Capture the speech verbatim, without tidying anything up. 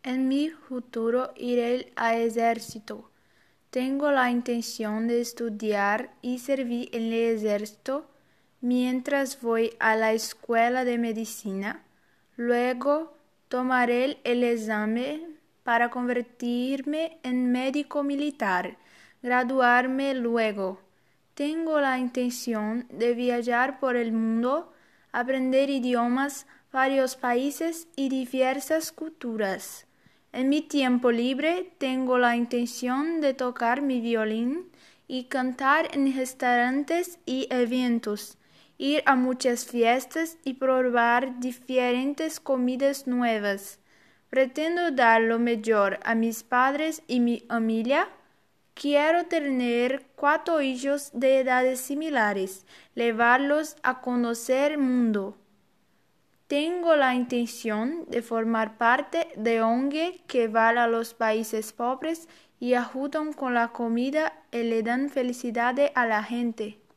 En mi futuro iré al ejército. Tengo la intención de estudiar y servir en el ejército mientras voy a la escuela de medicina. Luego tomaré el examen para convertirme en médico militar, graduarme luego. Tengo la intención de viajar por el mundo, aprender idiomas, varios países y diversas culturas. En mi tiempo libre tengo la intención de tocar mi violín y cantar en restaurantes y eventos, ir a muchas fiestas y probar diferentes comidas nuevas. Pretendo dar lo mejor a mis padres y mi familia. Quiero tener cuatro hijos de edades similares, llevarlos a conocer el mundo. Tengo la intención de formar parte de O N G que va a los países pobres y ayudan con la comida y le dan felicidad a la gente.